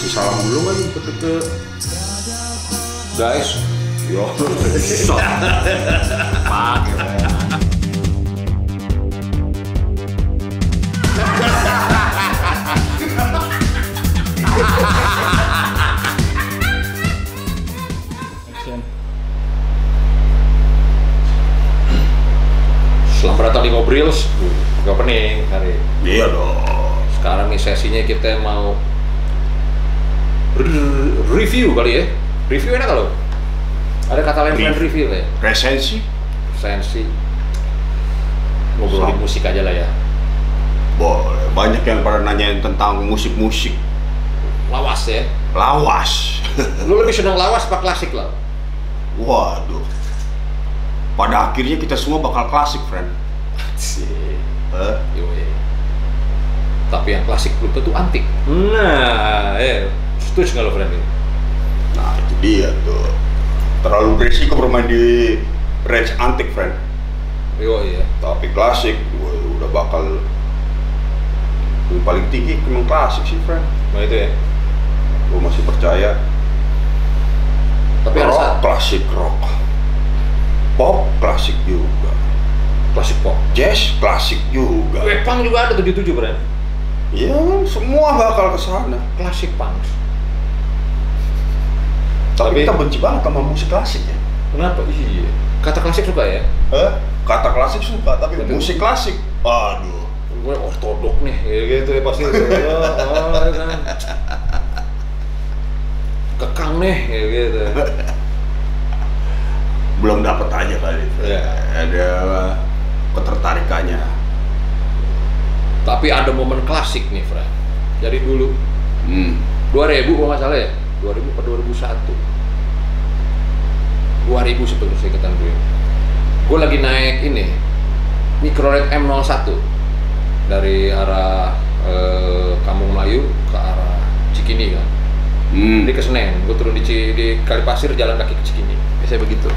Kasih salam dulu kan ke guys. Yo. Pakai. Selamat datang di Ngobrils. Gak pening hari. Iya dong. Sekarang nih sesinya kita mau review kali ya. Review enak kalau ada kata lain selain review ya. Resensi. Ngobrolin musik aja lah ya. Boleh. Banyak yang pada nanyain tentang musik-musik. Lawas ya. Lawas. Lu lebih senang lawas apa klasik lah? Waduh. Pada akhirnya kita semua bakal klasik, friend. Sih. Tapi yang klasik belum tentu antik. Nah, setuju nggak lo, friend? Nah, itu dia tuh. Terlalu berisiko bermain di range antik, friend. Iya. Tapi klasik, udah bakal yang paling tinggi memang klasik sih, friend. Nah itu ya. Gue masih percaya. Tapi rock, ada klasik rock. Pop, klasik juga. Klasik pop. Jazz, klasik juga. Punk juga ada 77, friend. Ya, semua bakal ke sana. Klasik punk. Tapi kita benci banget sama musik klasik ya. Kenapa? Iya. Kata klasik suka ya? Kata klasik suka, tapi musik klasik, aduh. Gue ortodok nih, ya gitu ya pasti. Kan. Kekang nih, ya gitu. Belum dapat aja kali. Ya. Ada ketertarikannya. Tapi ada momen klasik nih, Fred. Dari dulu. 2000 kalau nggak salah ya? 2000 atau 2001? 2000 sebetulnya saya ingetan gue. Gue lagi naik ini Mikrolet M01 dari arah Kampung Melayu ke arah Cikini kan. Jadi ke Senen, gue turun di Kalipasir jalan kaki ke Cikini. Biasanya begitu.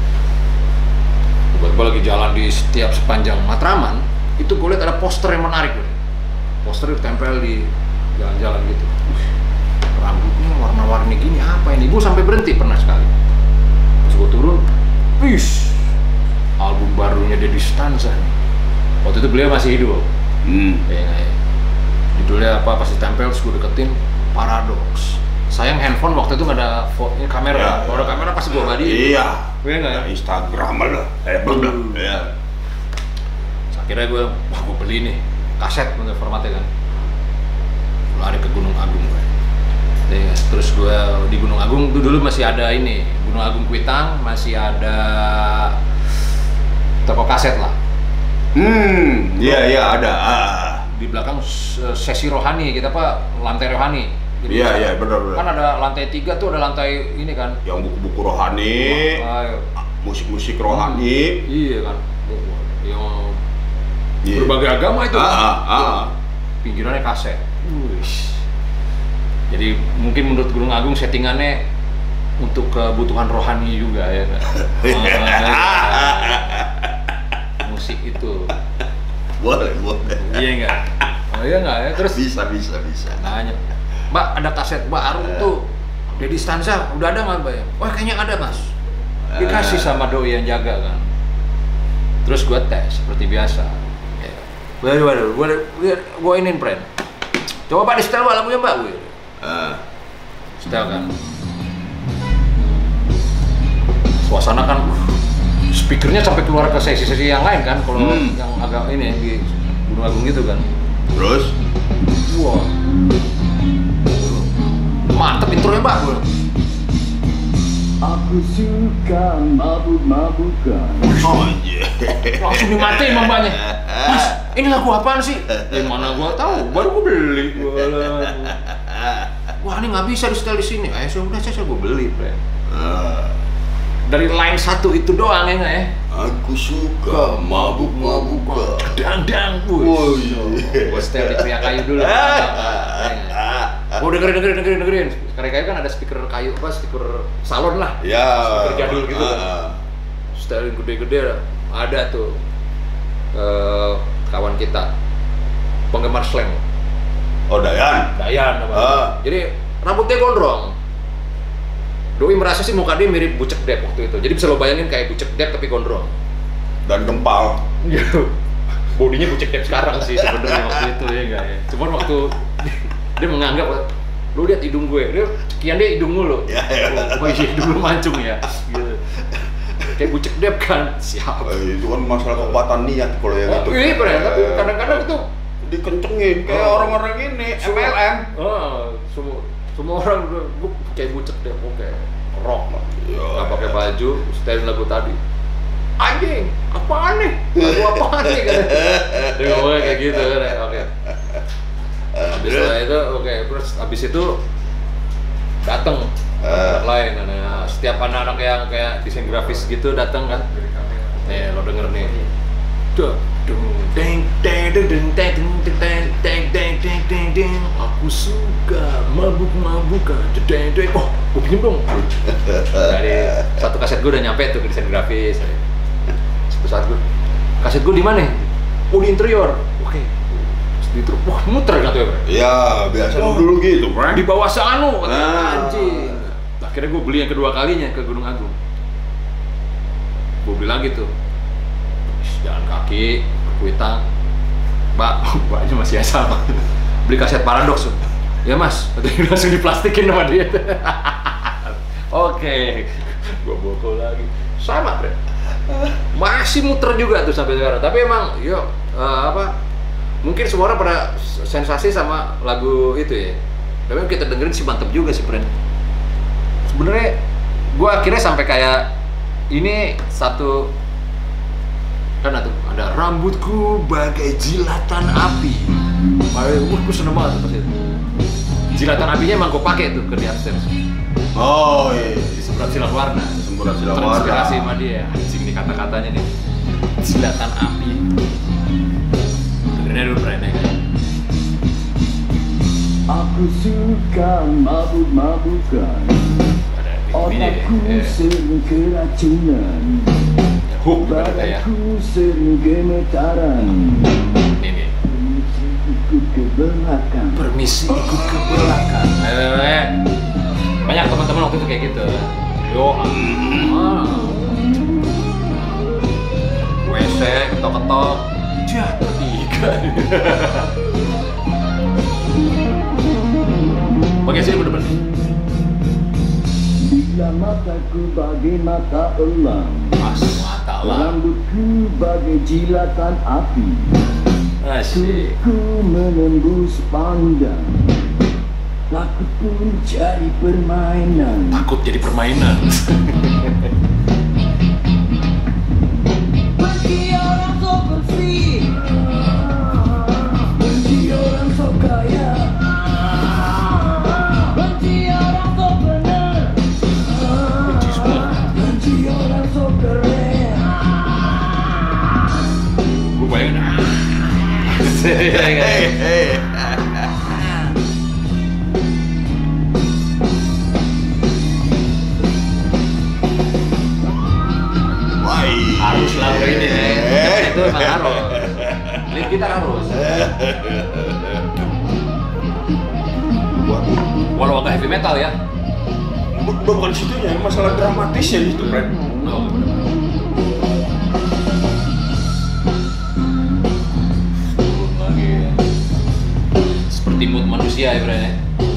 Gue lagi jalan di setiap sepanjang Matraman, itu gue lihat ada poster yang menarik gue. Poster ditempel di jalan-jalan gitu. Rambutnya warna-warni gini apa ini? Gue sampai berhenti pernah sekali. Pas gue turun, album barunya Deddy Stanza nih. Waktu itu beliau masih hidup. Judulnya apa? Pas ditempel, terus gue deketin, Paradox. Sayang handphone waktu itu nggak ada kamera. Kalau ada kamera pasti gue badi. Iya. Gue nggak ya? Instagram lah. Belum. Iya. Akhirnya gue beli nih kaset untuk formatnya kan. Lari ke Gunung Agung gue. Terus gue di Gunung Agung tuh dulu masih ada ini Gunung Agung Kuitang, masih ada toko kaset lah. Iya ada. Di belakang sesi rohani, kita lantai rohani. Iya benar. Kan ada lantai 3 tuh, ada lantai ini kan. Yang buku-buku rohani, musik-musik rohani. Iya kan. Yang berbagai agama itu. Pinggirannya kaset. Jadi mungkin menurut Gunung Agung settingannya untuk kebutuhan rohani juga ya. Musik itu. Boleh. Iya enggak? Oh iya enggak ya? Terus bisa. Nanya, Mbak ada kaset baru tuh Deddy Stanza, udah ada nggak Mbak ya? Wah kayaknya ada Mas. Dikasih sama doi yang jaga kan. Terus gue tes seperti biasa. Waduh, gue iniin friend. Coba Pak di setel lagunya Mbak. Setel kan. Suasana kan, speakernya sampai keluar ke sesi-sesi yang lain kan. Kalau yang agak ini di Gunung Agung gitu kan. Terus? Wah, mantep intronya Mbak. Aku suka mabuk-mabukan. Langsung dimatiin Mbaknya. Mas, ini lagu apaan sih? Mana gua tahu, baru gua beli. Wah ini nggak bisa di setel di sini. Sudah saya gua beli, friend. Dari line 1 itu doang ya nggak ya? Aku suka mabuk-mabukan. Dang, gua setel di Karya Kayu dulu. Gua dengerin. Karya Kayu kan ada speaker kayu, speaker salon lah. Ya. Speaker jadul gitu kan. Setelin gede-gede ada tuh kawan kita penggemar slang. Oh Dayan. Dayan namanya. Jadi rambutnya gondrong. Doi merasa sih muka dia mirip Bucek Depp waktu itu. Jadi bisa lo bayangin kayak Bucek Depp tapi gondrong. Dan gempal. Bodinya Bucek Depp sekarang sih sebenarnya waktu itu ya enggak ya. Cuman waktu dia menganggap lu lihat hidung gue, dia sekian dia hidung lu. Oh iya hidung lu mancung ya. Gitu. Kayak Bucek Depp kan, siap. Itu kan masalah kekuatan niat kalau yang itu. Iya bener, tapi kadang-kadang itu dikencengin kayak orang-orang ini MLM. Semua orang gue kayak Bucek Depp, oke, rock lah. Nggak pakai baju, setelin lagu tadi. Anjing, apaan nih? Lagu apaan nih? Dia ngomongnya kayak gitu kan, oke. Habis itu, oke, terus habis itu datang anak lain, setiap anak-anak yang kayak desain grafis gitu datang kan. Nih lo denger nih. Aku suka mabuk-mabukan. Oh, gue pinjem dong. Dari satu kaset gue udah nyampe tuh ke desain grafis. Satu saat gue, kaset gue di mana? Oh di interior. Oke. Itu, wah muter kan tuh ya bro? Ya biasa dulu gitu bro. Di bawah sana, anjing. Akhirnya gue beli yang kedua kalinya ke Gunung Agung. Gue beli lagi tuh, jalan kaki, ke Kuitang. Mbaknya masih sama. Beli kaset Paradox tuh. Ya mas, langsung diplastikin sama dia. Oke, gue bokol lagi. Sama bro. Masih muter juga tuh sampai sekarang. Tapi emang, yuk mungkin semua orang pada sensasi sama lagu itu ya. Tapi kita dengerin sih mantep juga sih, friend. Sebenarnya gue akhirnya sampai kayak ini satu kan ada rambutku bagai jilatan api. Gue seneng banget tuh pas itu. Jilatan apinya emang gue pakai tuh ke di upstairs. Oh iya. Di Semburat Silang Warna. Semburat Silang Warna. Terinspirasi sama dia. Anjing nih kata-katanya nih. Jilatan api. Dengerin dulu friend ya. Aku suka mabuk-mabukan. Otakku sering keracunan. Badanku sering gemetaran. Ini. Ikut ke belakang. Permisi ikut ke belakang. Banyak teman-teman waktu itu kayak gitu. Yo, WC ketok-ketok. Jah, tiga. Pakai sini bener-bener. Bila mataku bagai mata elang, Mata elang. rambutku bagai jilatan api. Asyik. Ku menembus pandang. Takut pun jadi permainan. Takut jadi permainan. Benci orang so bersih, benci orang so kaya, benci orang so bener, Benci semua. benci orang so keren. Gue bayangin. Harus lagu ini itu emang harus. Lead gitar harus. Walau agak heavy metal ya. Bukan situnya, masalah dramatisnya gitu, friend. Oh, turun lagi ya. Seperti mood manusia ya, friend ya.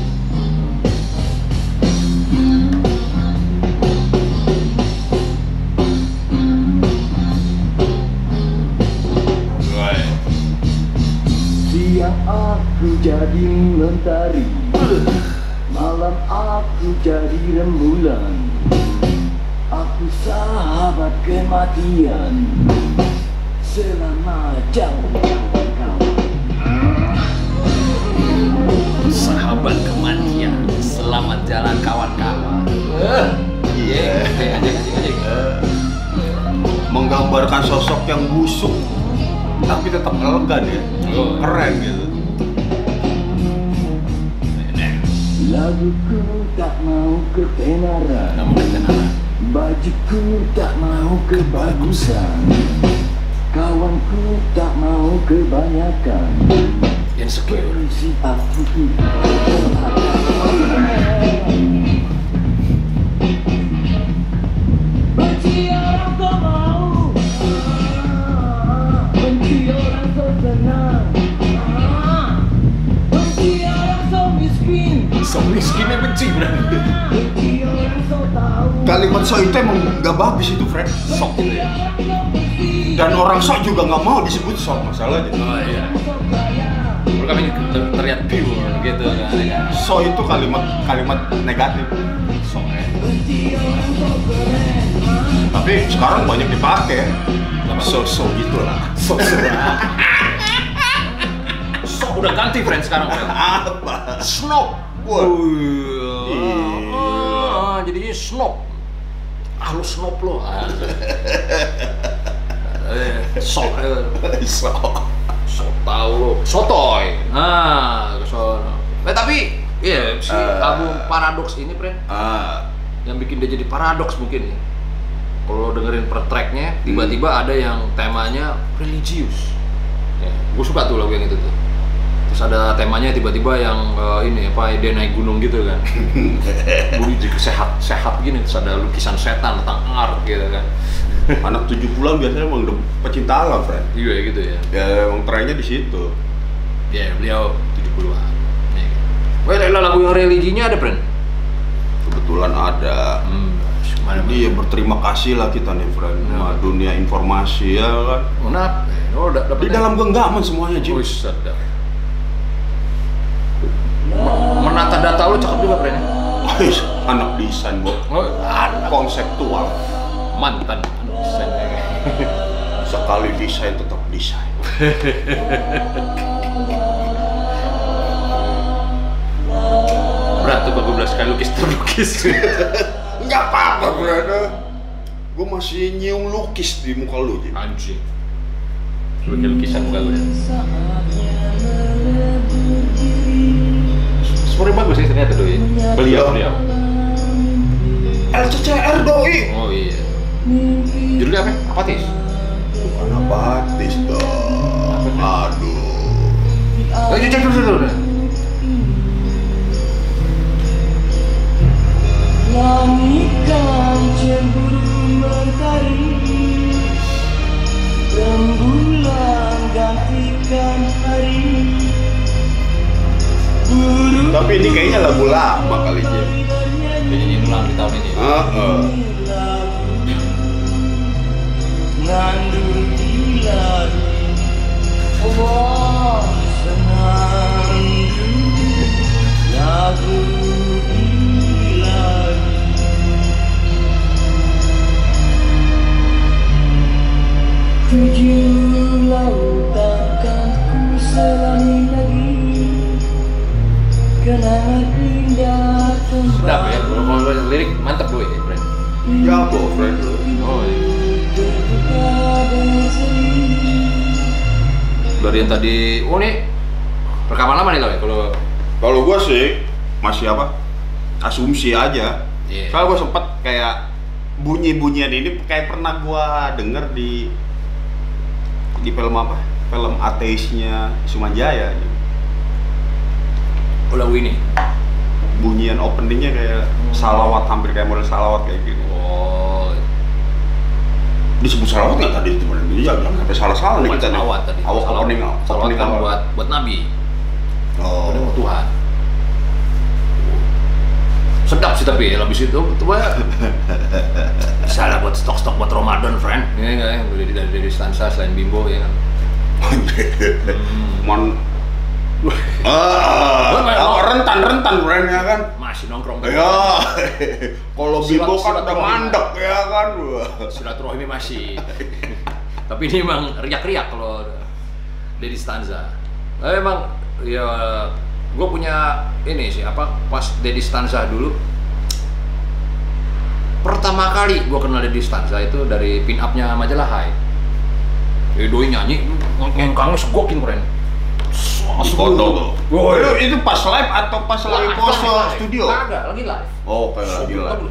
Siang aku jadi mentari, malam aku jadi rembulan. Aku sahabat kematian selama jauh kawan. Sahabat kematian, selamat jalan kawan-kawan. Iya. Anjing. Menggambarkan sosok yang busuk tapi tetap elegan ya. Oh. Keren gitu. Laguku tak mau ketenaran, Kamu ketenaran. bajuku tak mau kebagusan, kawanku tak mau kebanyakan. Insecure. Si aku Sok miskinnya benci berarti. Kalimat sok itu emang nggak bagus itu, Fred. Sok gitu ya. Dan orang sok juga nggak mau disebut sok, masalahnya. Oh iya. Kalau kami terlihat pure gitu kan. Sok itu kalimat negatif. Sok ya. Tapi sekarang banyak dipakai. So gitu lah. Sok. Sok udah ganti friend sekarang. Apa? Snob. Wah. Jadinya snob. Lu snob lo. Sok. Sok tahu lo. Sotoy. Nah, kesono. Tapi iya si album Paradox ini, friend. Yang bikin dia jadi paradoks mungkin ya. Kalau dengerin per tracknya, tiba-tiba ada yang temanya religius. Ya, gue suka tuh lagu yang itu tuh. Terus ada temanya tiba-tiba yang ini apa dia naik gunung gitu kan. Bunyi juga sehat gini, terus ada lukisan setan tentang art gitu kan. Anak 70-an biasanya emang udah pecinta alam, friend. Iya gitu ya. Ya emang trennya di situ. Ya beliau 70-an. Nih. Wah, lagu yang religinya ada, friend? Kebetulan ada. Jadi ya berterima kasih lah kita nih, friend, sama dunia informasi ya kan. Di dalam genggaman semuanya, Jim. Sedap. Menata data lu cakep juga, friend. Anak desain, Bo. Anak Konseptual. mantan anak desain. Sekali desain tetap desain. Berat tuh kalau 12 kali lukis. Nggak apa-apa, brother. Gue masih nyium lukis di muka lu, Jim. Anjing. Sebagai lukisan muka gue ya. Suaranya bagus sih ternyata doi. Beliau. LCCR doi. Oh iya. Judulnya apa? Apatis? Bukan apatis dong. Aduh. Ayo cek dulu. Langit kan cemburu mentari, rembulan gantikan hari. Tapi ini kayaknya lagu lama kali, Jim. Nyanyi ulang di tahun ini. Ngandung dilari, oh senandung lagu dilari. Tujuh lautan kan ku selangi lagi, kenangan indah Sedap ya, kembali. kalau lirik mantep doi ya, friend. Jago, friend. Oh iya. Dari yang tadi, oh nih rekaman lama nih lo ya Kalau gua sih masih apa? Asumsi aja. Iya. Soalnya gua sempet kayak bunyi-bunyian ini kayak pernah gua denger di film apa? Film ateisnya Sumanjaya. Oh lagu ini? Bunyian openingnya kayak salawat, hampir kayak model salawat kayak gitu. Oh Disebut salawat nggak tadi itu? Jangan sampai salah-salah nih bukan kita nih. salawat tadi. Opening Salawat kan awal. buat Nabi. Oh. Udah mau Tuhan. Sedap sih tapi habis itu salah buat stok-stok buat Ramadan, friend. Ini enggak ya, dari Stansa selain Bimbo ya kan. Rentan brand ya kan. Masih nongkrong Ya. Kalau Bimbo kan udah Silaturahmi. mandek ya kan. Silaturahmi masih. Tapi ini emang riak-riak kalau dari Stanza. Emang ya gue punya ini sih apa pas Dedi Stanza dulu pertama kali gue kenal Dedi Stanza itu dari pin up-nya majalah Hai. Doi nyanyi ngengkangnya segokin keren. Di foto. Woi. Itu pas live atau pas lagi pose studio? Kagak, lagi live. Oh, kayak lagi live.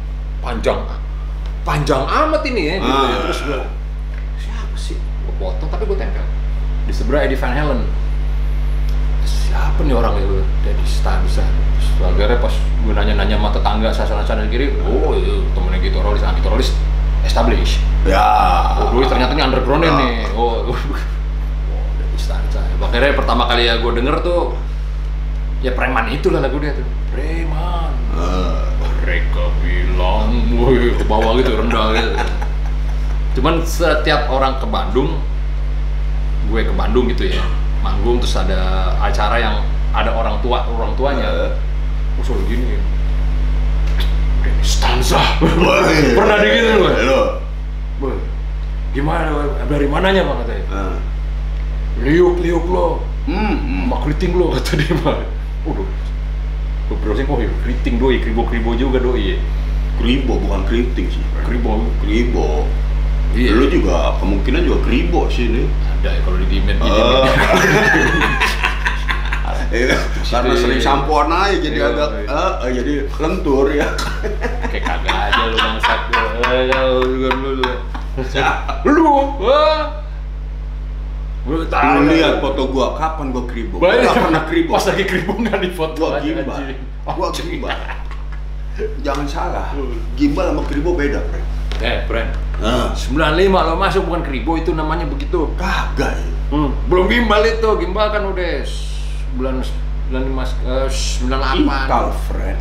Panjang amat ini ya. Gitu ya. Ah. Terus gue siapa sih? Gue potong tapi gue tempel di sebelah Eddie Van Halen. Siapa nih orang itu? Dedi Stanza. Terus akhirnya pas gue nanya-nanya sama tetangga sana kiri, oh itu temennya Gitarolis establish. Ya. Oh dulu ternyata ini underground Ya. nih. Oh Dedi Stanza. Akhirnya pertama kali ya gue denger tuh Ya preman itulah lagu dia tuh. Preman. Mereka bilang, woi ke bawah gitu, rendah gitu. Cuman setiap orang ke Bandung, gue ke Bandung gitu ya, manggung terus ada acara yang ada orang tuanya, usul gini, stanza, pernah digituin gue, gimana, dari mananya bang katanya, liuk lo, sama keriting lo kata dia mah, udah, gue browsing ya keriting doi, kribo juga doi, kribo bukan keriting sih, kribo. Iya. Lu juga kemungkinan juga kribo sih nih. Ada ya kalau di dimen Karena sering sampoan aja jadi agak jadi lentur ya. Kayak kagak aja lu bangsat lu tahu lihat foto gua kapan gua kribo. Gua pernah kribo. Pas lagi kribo nggak di foto gua gimbal. Gua gimbal. Jangan salah. Gimbal sama kribo beda, Friend. Friend. 95 lo masuk bukan kribo itu namanya begitu. Kagak ya. Belum gimbal itu. Gimbal kan udah bulan 98. Ikal, Friend.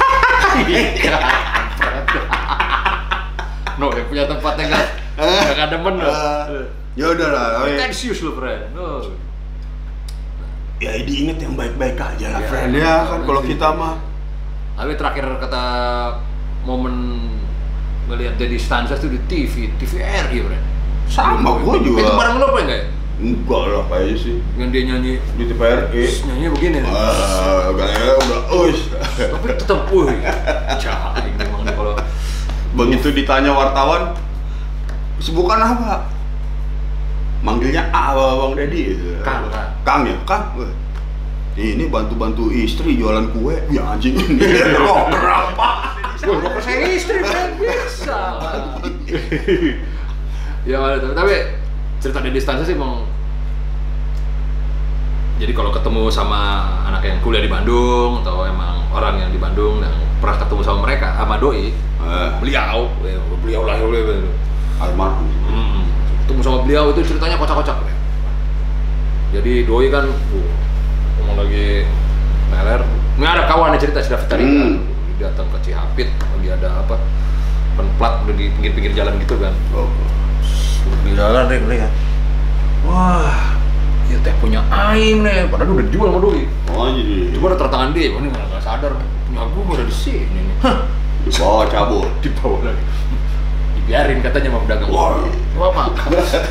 No, ya punya tempatnya enggak demen lo. Ya udah lah. Tensius lo, Friend. No. Ya diinget yang baik-baik aja lah, Friend. Ya kan kalau kita mah. Tapi terakhir kata momen ngelihat Dedi Stanza tuh di TVRI, Friend. Sama gua juga. Itu bareng lo apa enggak ya? Enggak lah kayaknya sih. Yang dia nyanyi di TVRI. Nyanyi begini. Gaya udah tapi tetap jahat memang nih kalau begitu ditanya wartawan kesibukan apa? Manggilnya Bang Dedi gitu. Kang ya, Kang. Ini bantu-bantu istri jualan kue. Ya anjing ini. Berapa? Wah, saya istri kan bisa. Ya tapi cerita Dedi Stanza sih emang. Jadi kalau ketemu sama anak yang kuliah di Bandung atau emang orang yang di Bandung yang pernah ketemu sama mereka, sama doi, beliau lah almarhum. Ketemu sama beliau itu ceritanya kocak-kocak. Jadi doi kan, ngomong lagi meler, nggak ada kawan yang cerita sudah veteran. Datang ke Cihapit, lagi ada apa? Penplat udah di pinggir-pinggir jalan gitu kan. Di jalan lihat. Wah, ya teh punya aing nih, padahal udah dijual sama doi. Jadi. Cuma ada tertangan dia, ini malah nggak sadar. Punya gua udah di sini nih. Dibawa cabut. Dibawa lagi. Dibiarin katanya sama pedagang. Wah, makan.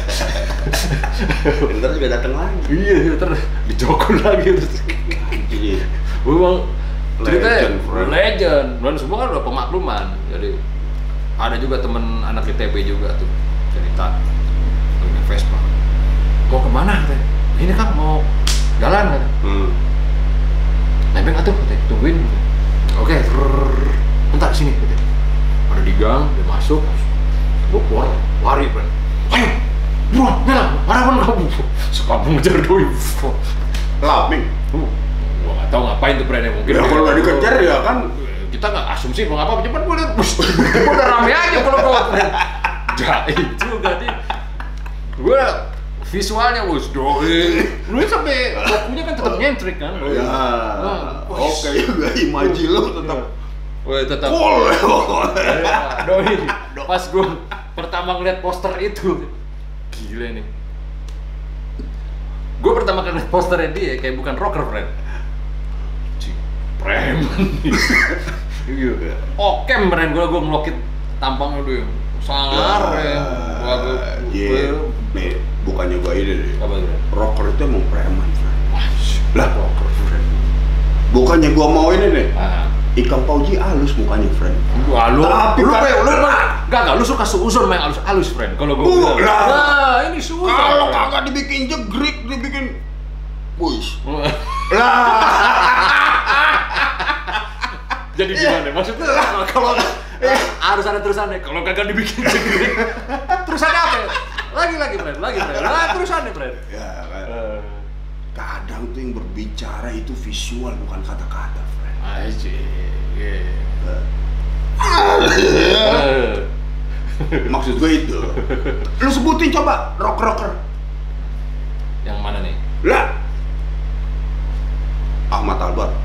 Ntar juga datang lagi. Iya, ntar dijokol lagi. Iya. Memang ceritanya legend, dan semua kan udah pemakluman. Jadi ada juga temen anak ITB juga tuh cerita lagi Vespa. Mau kemana katanya? Ini kan mau jalan katanya. Nebeng atuh katanya, tungguin. Oke, bentar sini katanya. Ada di gang, dia masuk, gue keluar, lari Bro. Ayo, buruan, jalan, harapan kamu. Suka mengejar doi. Laping. Gua nggak tahu ngapain tuh brandnya mungkin. Ya kalau nggak dikejar ya kan. Kita nggak asumsi mau apa, cuman gue lihat, udah rame aja kalau gue brand. Jahit juga nih. Gue visualnya doi. Lu sampai lakunya kan tetap nyentrik kan. Ya. Oke juga imaji lu tetap. Tetap. Doi. Pas gue pertama ngeliat poster itu, gila nih. Gue pertama kali ngeliat posternya dia kayak bukan rocker, friend. Preman nih. Okem brand gue ngelokit tampangnya dulu. Sangar ya. Nih, bukannya gue ini deh. Apa itu? Rocker itu emang preman, friend. Lah, rocker, friend. Bukannya gue mau ini nih. Ikang Fauji halus mukanya, friend. Wah, lu tapi lu suka suuzon main halus, friend. Kalau gue lah, ini suuzon. Kalau kagak dibikin jegrik, dibikin push. Lah. Jadi gimana? Maksudnya kalau harus ada terusannya. Kalau kagak dibikin jegrik, terusannya apa? Lagi, friend. Terusannya, friend. Ya kan. Kadang tuh yang berbicara itu visual bukan kata-kata, friend. Aji. Maksud gue itu. Lu sebutin coba rocker. Yang mana nih? Lah. Ahmad Albar.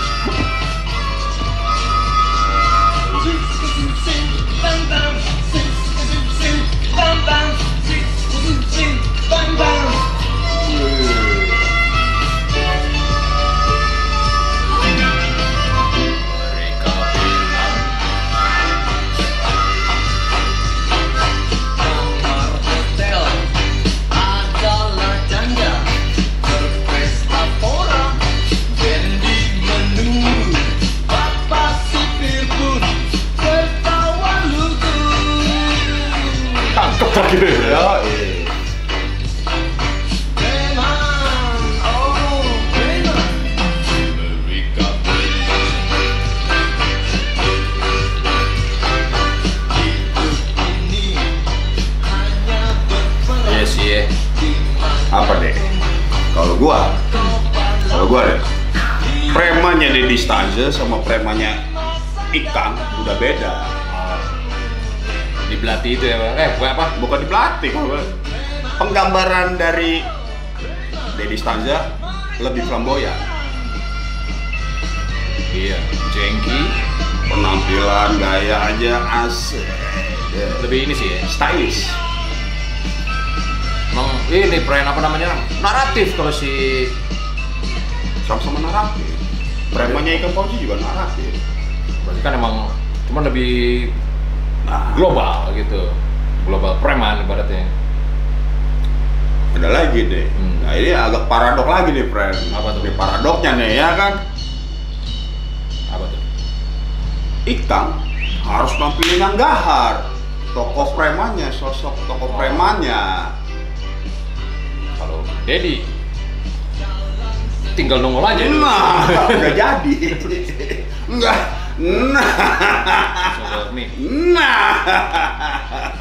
Apa deh? Kalau gua deh, premannya Dedi Stanza sama premannya Ikang udah beda. Di Belati itu ya, Bang? Apa? Bukan di pelatih, penggambaran dari Dedi Stanza lebih flamboyan. Iya, jengki, Penampilan, gaya aja asik. lebih ini sih ya, Stylish. emang ini brand apa namanya, naratif kalau si Sama-sama naratif. Premannya Ikang Fauzi juga naratif. berarti kan emang cuman lebih Nah, global gitu, global preman ibaratnya. ada lagi deh. Nah ini agak paradok lagi nih, friend. Apa tuh? Ini paradoknya nih ya kan. Apa tuh? Ikang harus nampilin yang gahar. Tokoh premannya, sosok tokoh premannya. Kalau Dedi tinggal nongol aja dulu. Nah, udah jadi. Enggak. Nah. Nih. Nah.